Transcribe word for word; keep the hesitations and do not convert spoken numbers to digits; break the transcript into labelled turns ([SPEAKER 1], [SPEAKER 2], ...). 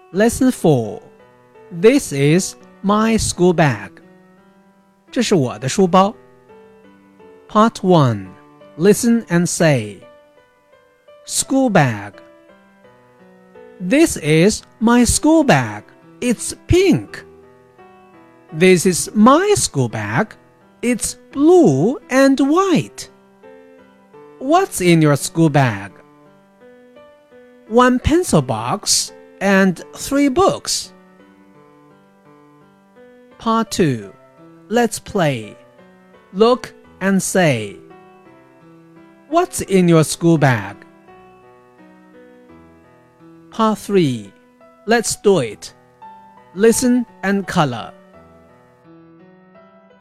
[SPEAKER 1] Lesson four. This is my school bag. 这是我的书包。Part one. Listen and say. School bag. This is my school bag. It's pink. This is my school bag. It's blue and white. What's in your school bag? One pencil box and three books. Part two. Let's play. Look and say. What's in your school bag? Part three. Let's do it. Listen and color.